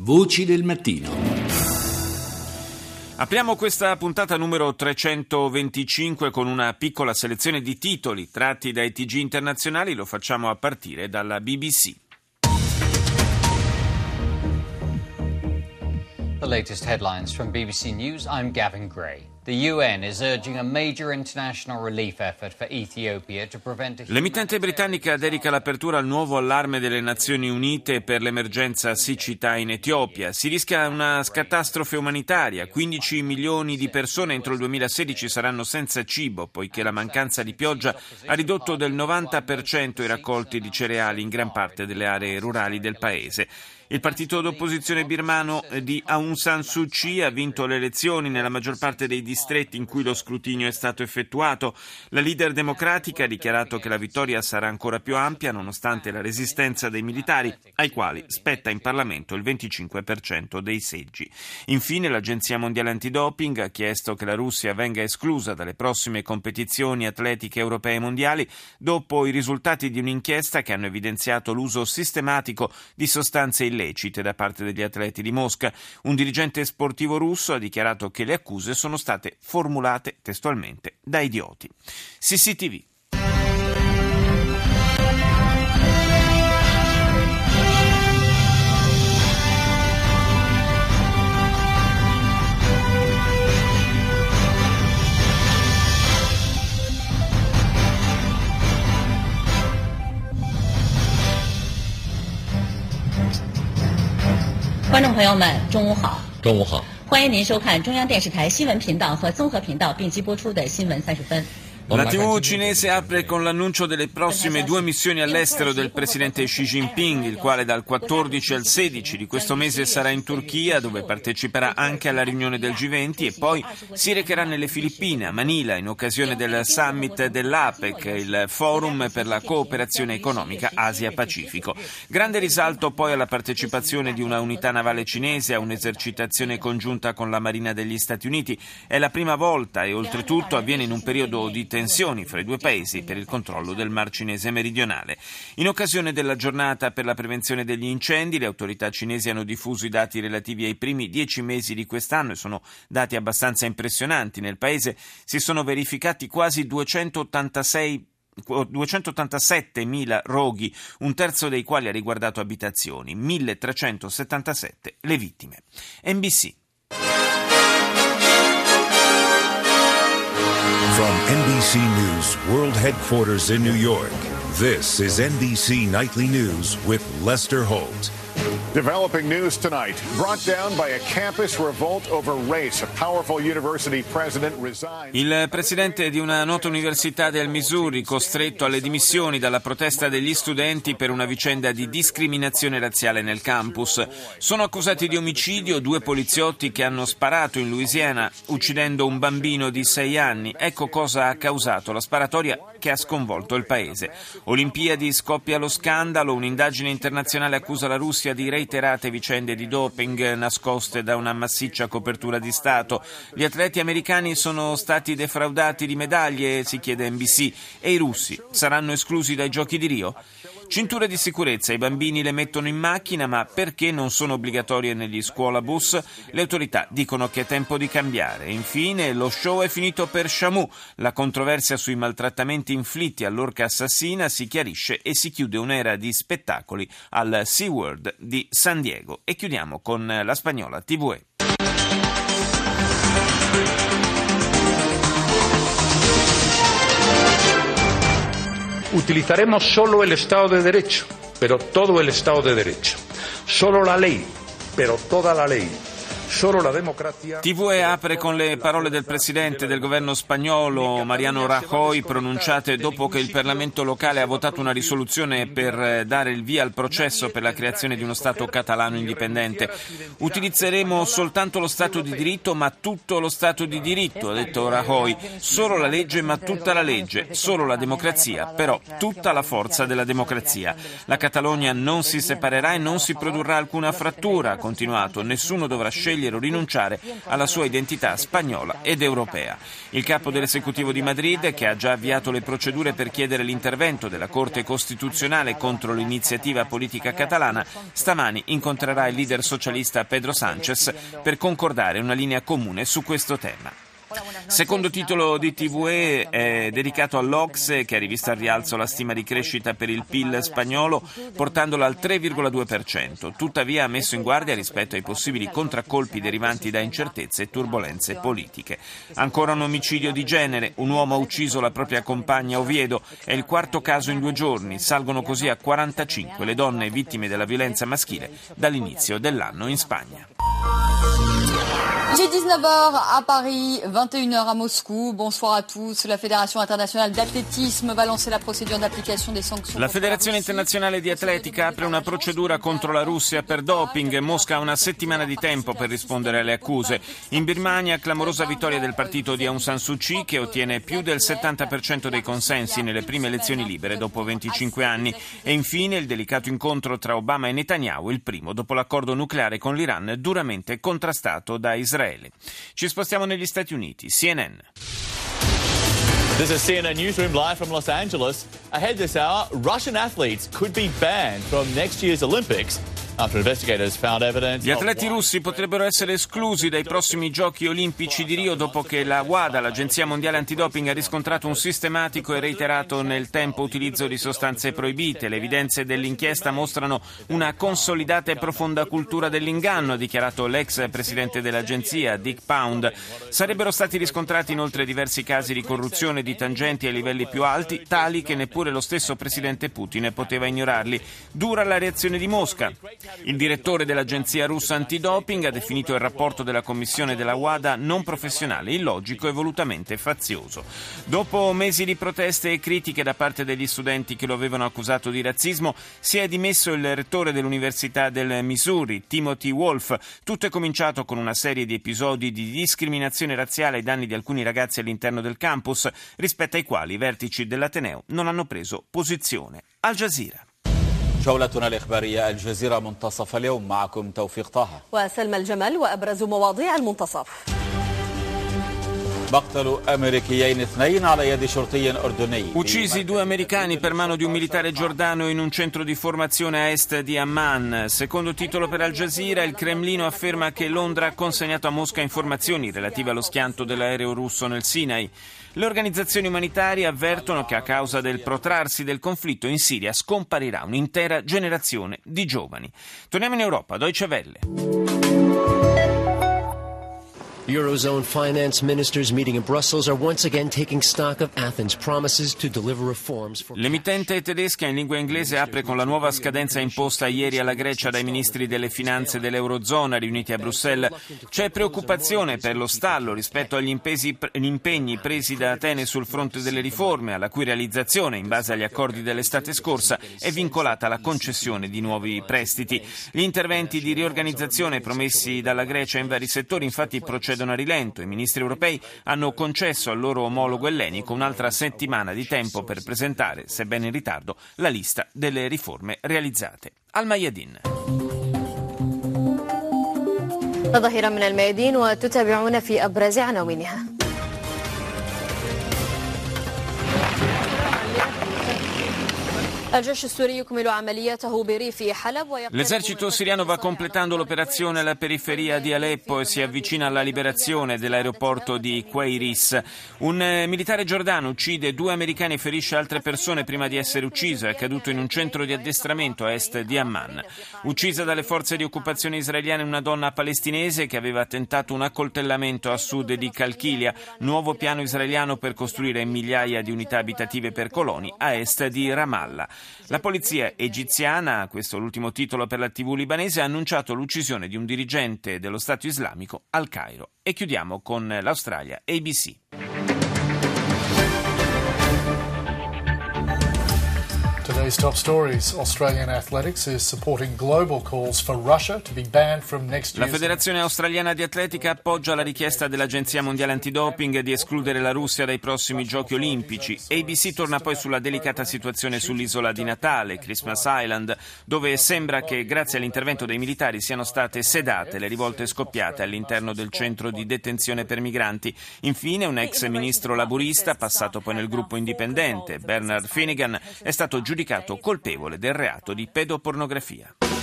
Voci del mattino. Apriamo questa puntata numero 325 con una piccola selezione di titoli tratti dai TG internazionali. Lo facciamo a partire dalla BBC. The latest headlines from BBC News. I'm Gavin Gray. The UN is urging a major international relief effort for Ethiopia to prevent L'emittente britannica dedica l'apertura al nuovo allarme delle Nazioni Unite per l'emergenza siccità in Etiopia. Si rischia una catastrofe umanitaria. 15 milioni di persone entro il 2016 saranno senza cibo, poiché la mancanza di pioggia ha ridotto del 90% i raccolti di cereali in gran parte delle aree rurali del paese. Il partito d'opposizione birmano di Aung San Suu Kyi ha vinto le elezioni nella maggior parte dei distretti in cui lo scrutinio è stato effettuato. La leader democratica ha dichiarato che la vittoria sarà ancora più ampia nonostante la resistenza dei militari, ai quali spetta in Parlamento il 25% dei seggi. Infine, l'Agenzia Mondiale Antidoping ha chiesto che la Russia venga esclusa dalle prossime competizioni atletiche europee e mondiali dopo i risultati di un'inchiesta che hanno evidenziato l'uso sistematico di sostanze illecite da parte degli atleti di Mosca. Un dirigente sportivo russo ha dichiarato che le accuse sono state formulate testualmente da idioti. CCTV. 中午好，欢迎您收看中央电视台新闻频道和综合频道并机播出的新闻30分。 La TV cinese apre con l'annuncio delle prossime 2 missioni all'estero del presidente Xi Jinping, il quale dal 14 al 16 di questo mese sarà in Turchia, dove parteciperà anche alla riunione del G20, e poi si recherà nelle Filippine, a Manila, in occasione del summit dell'APEC, il forum per la cooperazione economica Asia-Pacifico. Grande risalto poi alla partecipazione di una unità navale cinese a un'esercitazione congiunta con la Marina degli Stati Uniti. È la prima volta e oltretutto avviene in un periodo di tensioni fra i due paesi per il controllo del Mar Cinese meridionale. In occasione della giornata per la prevenzione degli incendi, le autorità cinesi hanno diffuso i dati relativi ai primi 10 mesi di quest'anno e sono dati abbastanza impressionanti. Nel paese si sono verificati quasi 287.000 roghi, un terzo dei quali ha riguardato abitazioni, 1.377 le vittime. NBC. From NBC News World Headquarters in New York, this is NBC Nightly News with Lester Holt. Developing news tonight, brought down by a campus revolt over race. A powerful university president resigned. Il presidente di una nota università del Missouri, costretto alle dimissioni dalla protesta degli studenti per una vicenda di discriminazione razziale nel campus. Sono accusati di omicidio 2 poliziotti che hanno sparato in Louisiana, uccidendo un bambino di 6 anni. Ecco cosa ha causato la sparatoria che ha sconvolto il paese. Olimpiadi, scoppia lo scandalo, un'indagine internazionale accusa la Russia di reiterate vicende di doping nascoste da una massiccia copertura di Stato. Gli atleti americani sono stati defraudati di medaglie, si chiede NBC, e i russi saranno esclusi dai giochi di Rio? Cinture di sicurezza, i bambini le mettono in macchina, ma perché non sono obbligatorie negli scuolabus? Le autorità dicono che è tempo di cambiare. Infine, lo show è finito per Shamu. La controversia sui maltrattamenti inflitti all'orca assassina si chiarisce e si chiude un'era di spettacoli al SeaWorld di San Diego. E chiudiamo con la spagnola TVE. Utilizaremos solo el Estado de Derecho, pero todo el Estado de Derecho. Solo la ley, pero toda la ley. Solo la democrazia. TVE apre con le parole del presidente del governo spagnolo Mariano Rajoy, pronunciate dopo che il Parlamento locale ha votato una risoluzione per dare il via al processo per la creazione di uno Stato catalano indipendente. Utilizzeremo soltanto lo Stato di diritto, ma tutto lo Stato di diritto, ha detto Rajoy. Solo la legge, ma tutta la legge. Solo la democrazia, però tutta la forza della democrazia. La Catalogna non si separerà e non si produrrà alcuna frattura, ha continuato. Nessuno dovrà scegliere scegliere o rinunciare alla sua identità spagnola ed europea. Il capo dell'esecutivo di Madrid, che ha già avviato le procedure per chiedere l'intervento della Corte Costituzionale contro l'iniziativa politica catalana, stamani incontrerà il leader socialista Pedro Sánchez per concordare una linea comune su questo tema. Secondo titolo di TVE è dedicato all'Ocse, che ha rivisto al rialzo la stima di crescita per il PIL spagnolo, portandola al 3,2%. Tuttavia ha messo in guardia rispetto ai possibili contraccolpi derivanti da incertezze e turbolenze politiche. Ancora un omicidio di genere. Un uomo ha ucciso la propria compagna a Oviedo. È il quarto caso in 2 giorni. Salgono così a 45 le donne vittime della violenza maschile dall'inizio dell'anno in Spagna. Il est 19h à Paris, 21h à Moscou. Bonsoir à tous. La Fédération internationale d'athlétisme va lancer la procédure d'application des sanctions. La Federazione internazionale di atletica apre una procedura contro la Russia per doping. Mosca ha una settimana di tempo per rispondere alle accuse. In Birmania, clamorosa vittoria del partito di Aung San Suu Kyi, che ottiene più del 70% dei consensi nelle prime elezioni libere dopo 25 anni. E infine il delicato incontro tra Obama e Netanyahu, il primo dopo l'accordo nucleare con l'Iran duramente contrastato da Israele. Ci spostiamo negli Stati Uniti. CNN. This is CNN Newsroom live from Los Angeles. Ahead this hour, Russian athletes could be banned from next year's Olympics. Gli atleti russi potrebbero essere esclusi dai prossimi Giochi olimpici di Rio dopo che la WADA, l'Agenzia Mondiale Antidoping, ha riscontrato un sistematico e reiterato nel tempo utilizzo di sostanze proibite. Le evidenze dell'inchiesta mostrano una consolidata e profonda cultura dell'inganno, ha dichiarato l'ex presidente dell'agenzia, Dick Pound. Sarebbero stati riscontrati inoltre diversi casi di corruzione di tangenti ai livelli più alti, tali che neppure lo stesso presidente Putin poteva ignorarli. Dura la reazione di Mosca. Il direttore dell'agenzia russa antidoping ha definito il rapporto della commissione della WADA non professionale, illogico e volutamente fazioso. Dopo mesi di proteste e critiche da parte degli studenti che lo avevano accusato di razzismo, si è dimesso il rettore dell'Università del Missouri, Timothy Wolf. Tutto è cominciato con una serie di episodi di discriminazione razziale ai danni di alcuni ragazzi all'interno del campus, rispetto ai quali i vertici dell'Ateneo non hanno preso posizione. Al Jazeera. جولتنا الإخبارية الجزيرة منتصف اليوم معكم توفيق طه وسلمى الجمل وأبرز مواضيع المنتصف. Uccisi 2 americani per mano di un militare giordano in un centro di formazione a est di Amman. Secondo titolo per Al Jazeera, il Cremlino afferma che Londra ha consegnato a Mosca informazioni relative allo schianto dell'aereo russo nel Sinai. Le organizzazioni umanitarie avvertono che a causa del protrarsi del conflitto in Siria scomparirà un'intera generazione di giovani. Torniamo in Europa, Deutsche Welle. Eurozone finance ministers meeting in Brussels are once again taking stock of Athens' promises to deliver reforms for... L'emittente tedesca in lingua inglese apre con la nuova scadenza imposta ieri alla Grecia dai ministri delle finanze dell'Eurozona riuniti a Bruxelles. C'è preoccupazione per lo stallo rispetto agli impegni presi da Atene sul fronte delle riforme, alla cui realizzazione, in base agli accordi dell'estate scorsa, è vincolata la concessione di nuovi prestiti. Gli interventi di riorganizzazione promessi dalla Grecia in vari settori infatti procedono a rilento. I ministri europei hanno concesso al loro omologo ellenico un'altra settimana di tempo per presentare, sebbene in ritardo, la lista delle riforme realizzate. Al Mayadin. ظهيرا من الميادين وتتابعون في أبرز عناوينها. L'esercito siriano va completando l'operazione alla periferia di Aleppo e si avvicina alla liberazione dell'aeroporto di Queiris. Un militare giordano uccide 2 americani e ferisce altre persone prima di essere ucciso. È accaduto in un centro di addestramento a est di Amman. Uccisa dalle forze di occupazione israeliane una donna palestinese che aveva tentato un accoltellamento a sud di Calchilia, nuovo piano israeliano per costruire migliaia di unità abitative per coloni a est di Ramallah. La polizia egiziana, questo è l'ultimo titolo per la TV libanese, ha annunciato l'uccisione di un dirigente dello Stato islamico al Cairo. E chiudiamo con l'Australia, ABC. Today These top stories. Australian Athletics is supporting global calls for Russia to be banned from next year's... La Federazione Australiana di Atletica appoggia la richiesta dell'Agenzia Mondiale Antidoping di escludere la Russia dai prossimi Giochi Olimpici. ABC torna poi sulla delicata situazione sull'isola di Natale, Christmas Island, dove sembra che grazie all'intervento dei militari siano state sedate le rivolte scoppiate all'interno del centro di detenzione per migranti. Infine, un ex ministro laburista, passato poi nel gruppo indipendente, Bernard Finnegan, è stato giudicato colpevole del reato di pedopornografia.